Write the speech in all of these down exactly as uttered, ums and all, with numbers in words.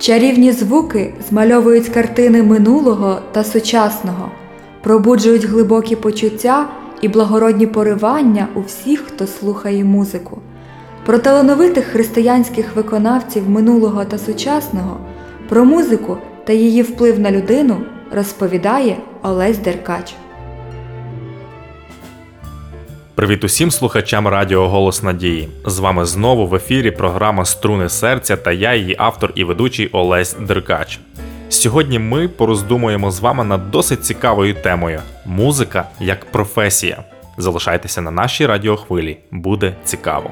Чарівні звуки змальовують картини минулого та сучасного, пробуджують глибокі почуття і благородні поривання у всіх, хто слухає музику. Про талановитих християнських виконавців минулого та сучасного, про музику та її вплив на людину розповідає Олесь Деркач. Привіт усім слухачам радіо «Голос Надії». З вами знову в ефірі програма «Струни серця» та я, її автор і ведучий Олесь Деркач. Сьогодні ми пороздумуємо з вами над досить цікавою темою – музика як професія. Залишайтеся на нашій радіохвилі, буде цікаво.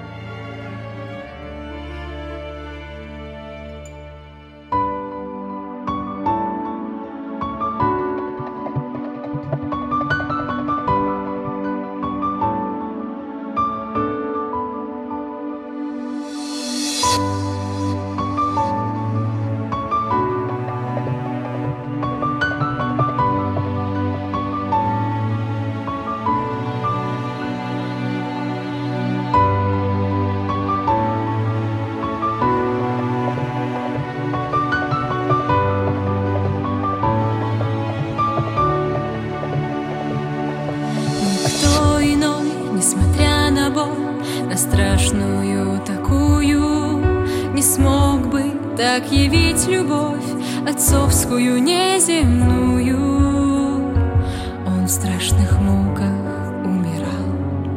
Несмотря на боль, на страшную такую, не смог бы так явить любовь отцовскую неземную. Он в страшных муках умирал.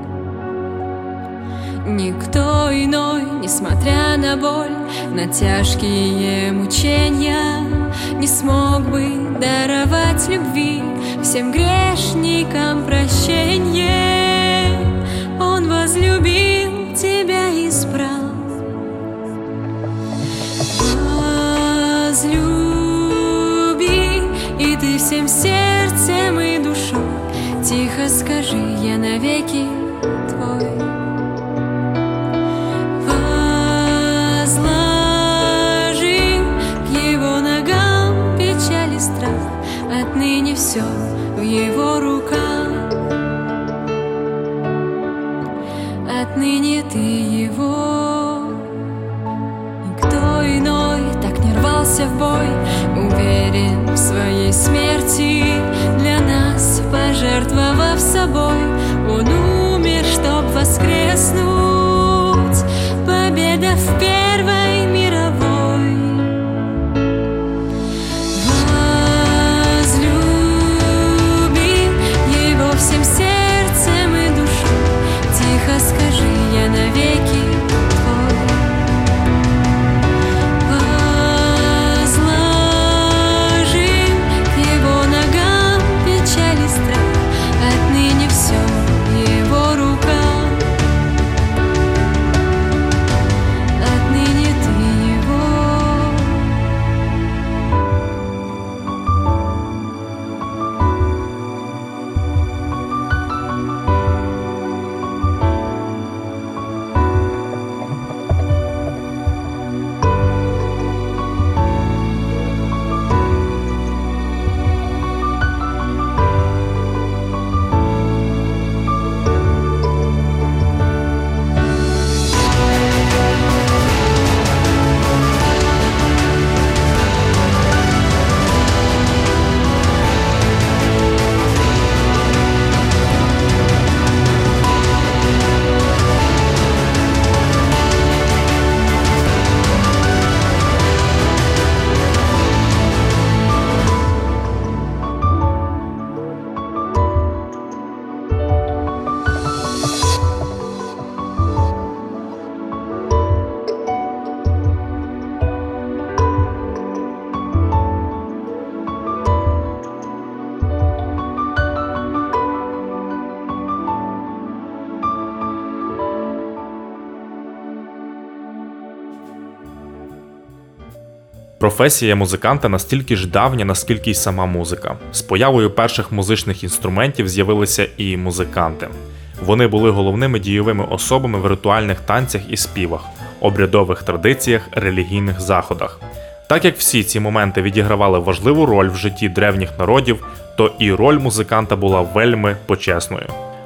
Никто иной, несмотря на боль, на тяжкие мучения, не смог бы даровать любви всем грешникам прощение. Он возлюбил тебя и избрал. Возлюби, и ты всем сердцем и душой тихо скажи: я навеки твой. Возложи к его ногам печаль и страх, отныне все в его руках. Отныне ты его. Никто иной так не рвался в бой, уверен в своей смерти, для нас пожертвовав собой. Он умер, чтоб воскреснуть. Победа в Первой мировой. Возлюби его всем сердцем и душой, тихо скажи: я навеки твой. Возложи к его ногам печаль и страх, отныне все в его руках. Отныне ты его. Професія музиканта настільки ж давня, наскільки й сама музика. З появою перших музичних інструментів з'явилися і музиканти. Вони були головними дійовими особами в ритуальних танцях і співах, обрядових традиціях, релігійних заходах. Так як всі ці моменти відігравали важливу роль в житті древніх народів, то і роль музиканта була вельми почесною.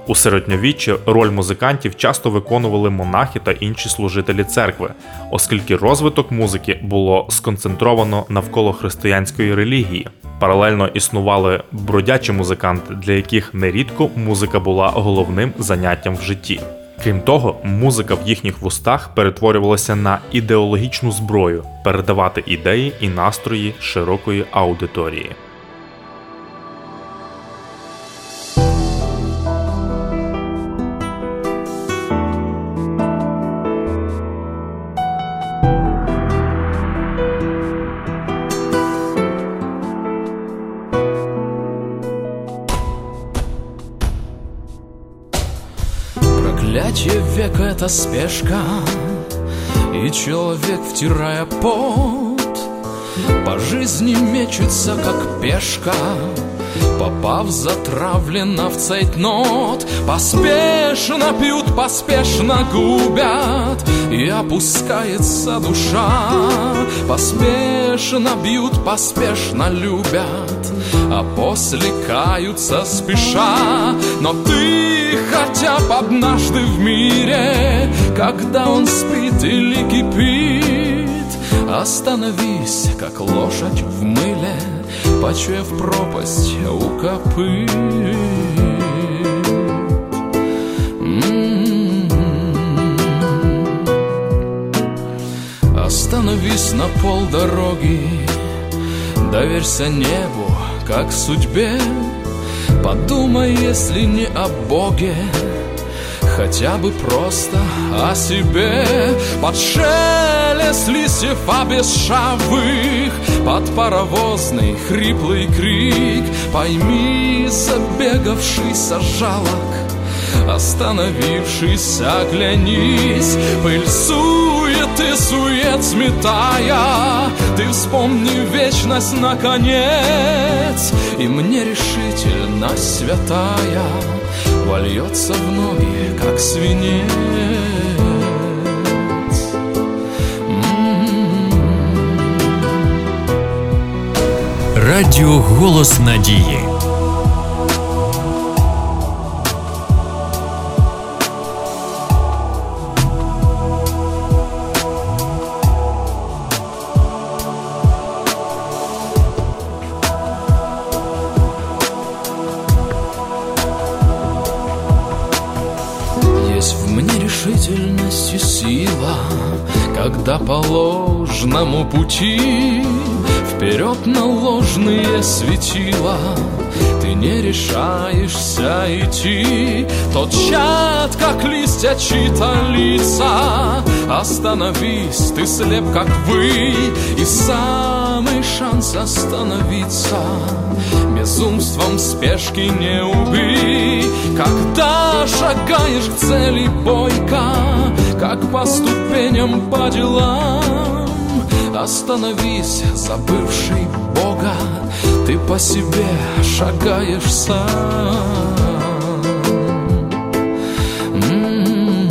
У середньовіччі роль музикантів часто виконували монахи та інші служителі церкви, оскільки розвиток музики було сконцентровано навколо християнської релігії. Паралельно існували бродячі музиканти, для яких нерідко музика була головним заняттям в житті. Крім того, музика в їхніх вустах перетворювалася на ідеологічну зброю – передавати ідеї і настрої широкої аудиторії. Проклятие века — это спешка, и человек, втирая пот, по жизни мечется, как пешка, попав затравленно в цейтнот. Поспешно пьют, поспешно губят, и опускается душа. Поспешно бьют, поспешно любят, а после каются спеша. Но ты хотя бы однажды в мире, когда он спит или кипит, остановись, как лошадь в мыле, почуяв пропасть у копыт. М-м-м. Остановись на полдороги, доверься небу, как судьбе. Подумай, если не о Боге, хотя бы просто о себе. Под шелест листьев обесшавых, под паровозный хриплый крик, пойми, забегавшийся жалок, остановившийся, оглянись. Пыль суеты, сует сметая, ты вспомни вечность наконец, и мне решительность святая вольется в ноги, как свинец. Радіо «Голос надії». Есть в мне решительность и сила, когда по ложному пути вперед на ложные светила ты не решаешься идти. Тот чад, как листья, чьи-то лица. Остановись, ты слеп, как вы, и самый шанс остановиться безумством спешки не убей. Когда шагаешь к цели бойко, как по ступеням по делам, остановись, забывший Бога, ты по себе шагаешь сам. М-м-м.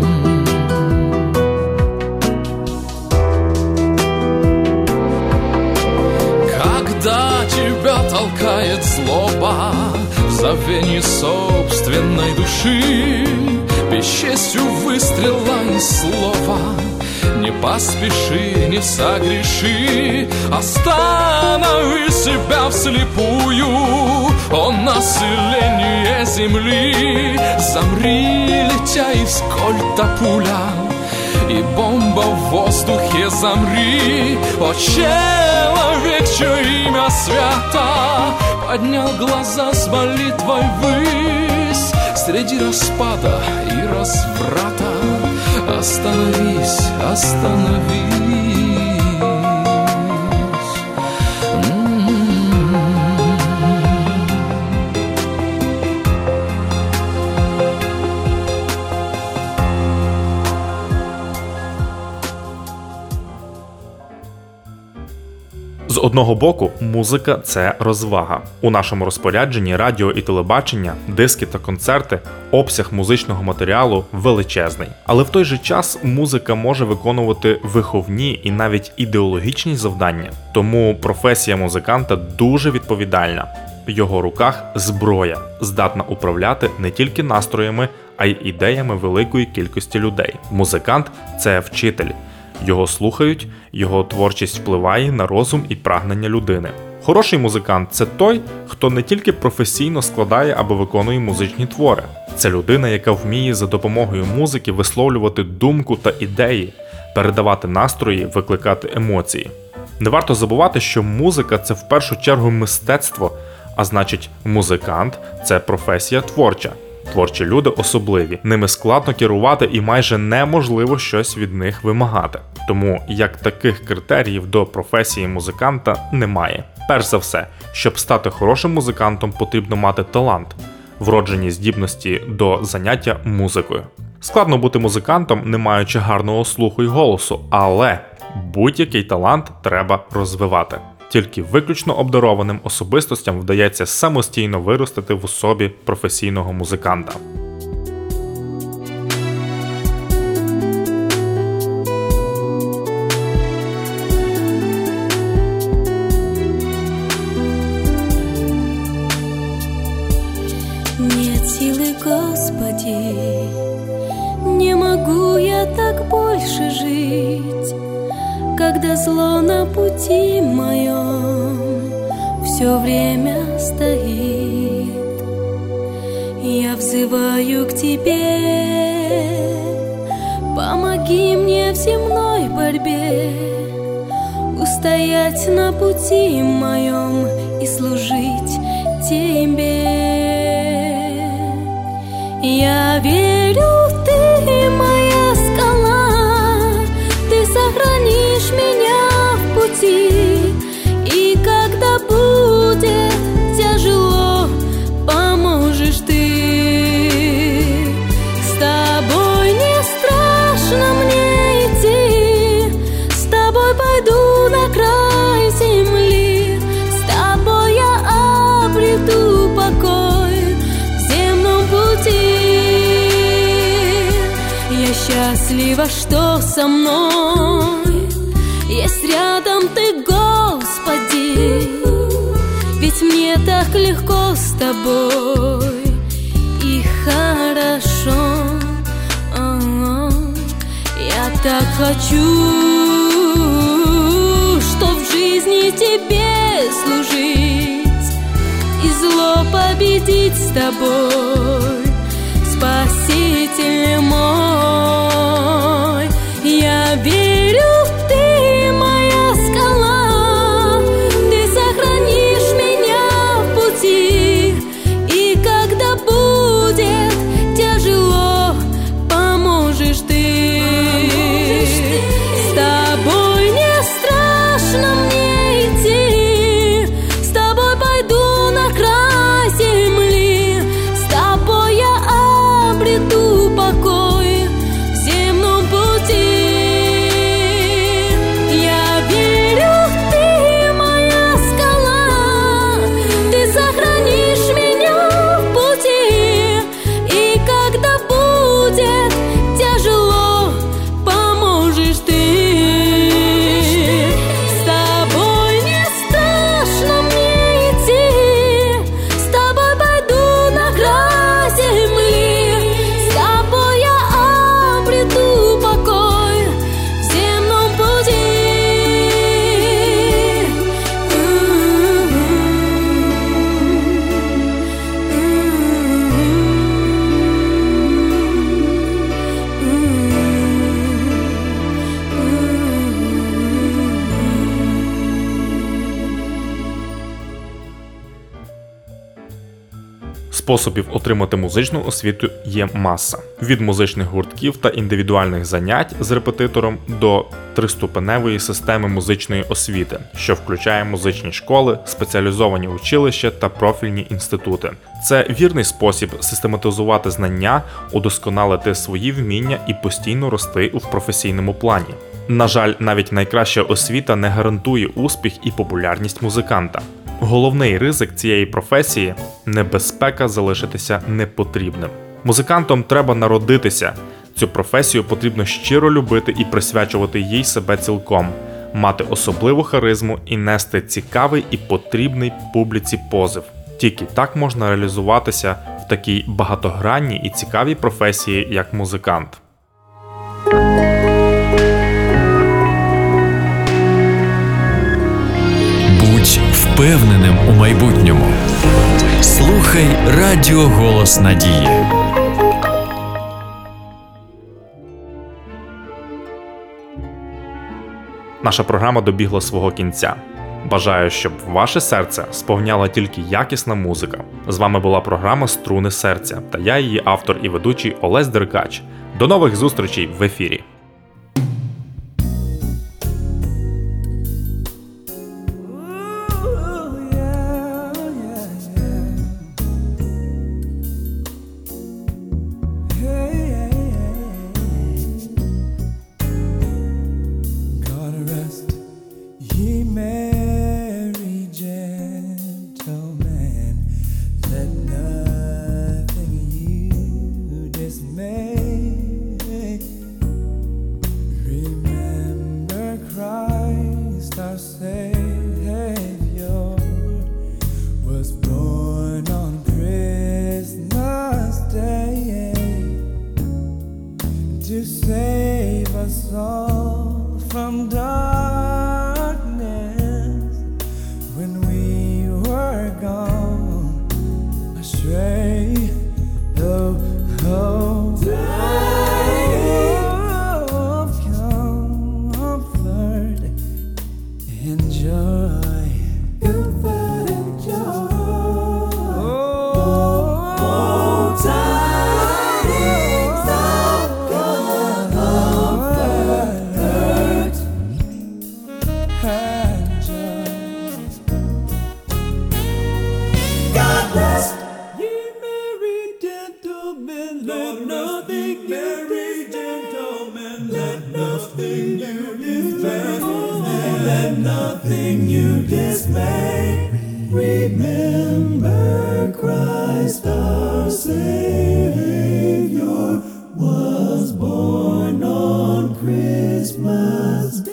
Когда тебя толкает злоба в забвении собственной души, бесчестью выстрела из слова, не поспеши, не согреши, останови себя вслепую. Он население земли, замри, летя из кольта пуля, и бомба в воздухе замри. О, человек, чье имя свято, поднял глаза с молитвой ввысь среди распада и разврата. Остановись, остановись. М-м-м. З одного боку, музика – це розвага. У нашому розпорядженні радіо і телебачення, диски та концерти, обсяг музичного матеріалу величезний. Але в той же час музика може виконувати виховні і навіть ідеологічні завдання. Тому професія музиканта дуже відповідальна. В його руках зброя, здатна управляти не тільки настроями, а й ідеями великої кількості людей. Музикант – це вчитель. Його слухають, його творчість впливає на розум і прагнення людини. Хороший музикант – це той, хто не тільки професійно складає або виконує музичні твори. Це людина, яка вміє за допомогою музики висловлювати думку та ідеї, передавати настрої, викликати емоції. Не варто забувати, що музика – це в першу чергу мистецтво, а значить, музикант – це професія творча. Творчі люди особливі, ними складно керувати і майже неможливо щось від них вимагати. Тому як таких критеріїв до професії музиканта немає. Перш за все, щоб стати хорошим музикантом, потрібно мати талант, вроджені здібності до заняття музикою. Складно бути музикантом, не маючи гарного слуху й голосу, але будь-який талант треба розвивати. Тільки виключно обдарованим особистостям вдається самостійно виростити в особі професійного музиканта. Нет силы, Господи, не могу я так больше жить, когда зло на пути моем все время стоит. Я взываю к Тебе, помоги мне в земной борьбе устоять на пути моем и служить Тебе. Я верю, Ты моя скала, Ты сохранишь меня в пути, и когда будет тяжело, поможешь Ты. С Тобой не страшно мне идти, с Тобой пойду на край земли, с Тобой я обрету покой в земном пути. Я счастлива, что со мной есть рядом Ты, Господи, ведь мне так легко с Тобой и хорошо. О-о-о. Я так хочу, что в жизни Тебе служить и зло победить с Тобой, Спаситель мой. Я верю, Ты моя скала, Ты сохранишь меня в пути, и когда будет тяжело, поможешь Ты. С Тобой не страшно мне идти, с Тобой пойду на край земли, с Тобой я обрету покой в земном пути. Я верю, Ты моя скала, Ты сохранишь меня в пути, и когда будет тяжело, поможешь Ты. С Тобой не страшно мне идти, с Тобой пойду на край земли, с Тобой я обрету покой в земном пути. Способів отримати музичну освіту є маса. Від музичних гуртків та індивідуальних занять з репетитором до триступеневої системи музичної освіти, що включає музичні школи, спеціалізовані училища та профільні інститути. Це вірний спосіб систематизувати знання, удосконалити свої вміння і постійно рости у професійному плані. На жаль, навіть найкраща освіта не гарантує успіх і популярність музиканта. Головний ризик цієї професії – небезпека залишитися непотрібним. Музикантом треба народитися. Цю професію потрібно щиро любити і присвячувати їй себе цілком, мати особливу харизму і нести цікавий і потрібний публіці позив. Тільки так можна реалізуватися в такій багатогранній і цікавій професії, як музикант. Будь впевненим у майбутньому. Слухай Радіо Голос Надії. Наша програма добігла свого кінця. Бажаю, щоб ваше серце сповняла тільки якісна музика. З вами була програма «Струни серця» та я, її автор і ведучий Олесь Деркач. До нових зустрічей в ефірі! To save us all from darkness when we were gone astray. Oh, oh, of comfort and joy. Comfort and joy. Oh, oh, tidings of comfort and joy. God bless ye merry gentlemen. Let nothing merry gentlemen. Let nothing you dismay. Let nothing you dismay. Remember Christ our Savior was born on Christmas Day.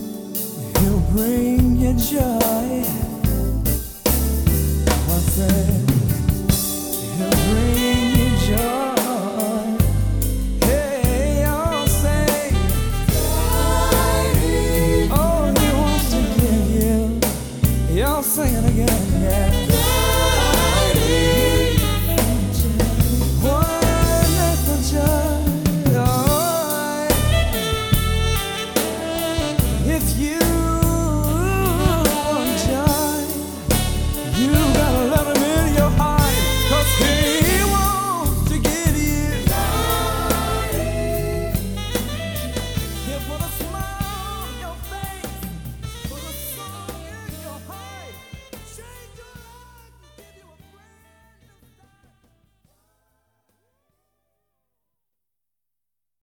Bring your joy, I say.